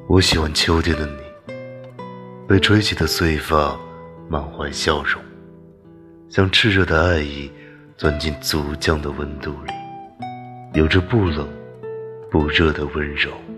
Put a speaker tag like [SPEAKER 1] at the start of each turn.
[SPEAKER 1] 我喜欢秋天的你，被吹起的碎发满怀笑容，像炽热的爱意钻进足酱的温度里，有着不冷不热的温柔。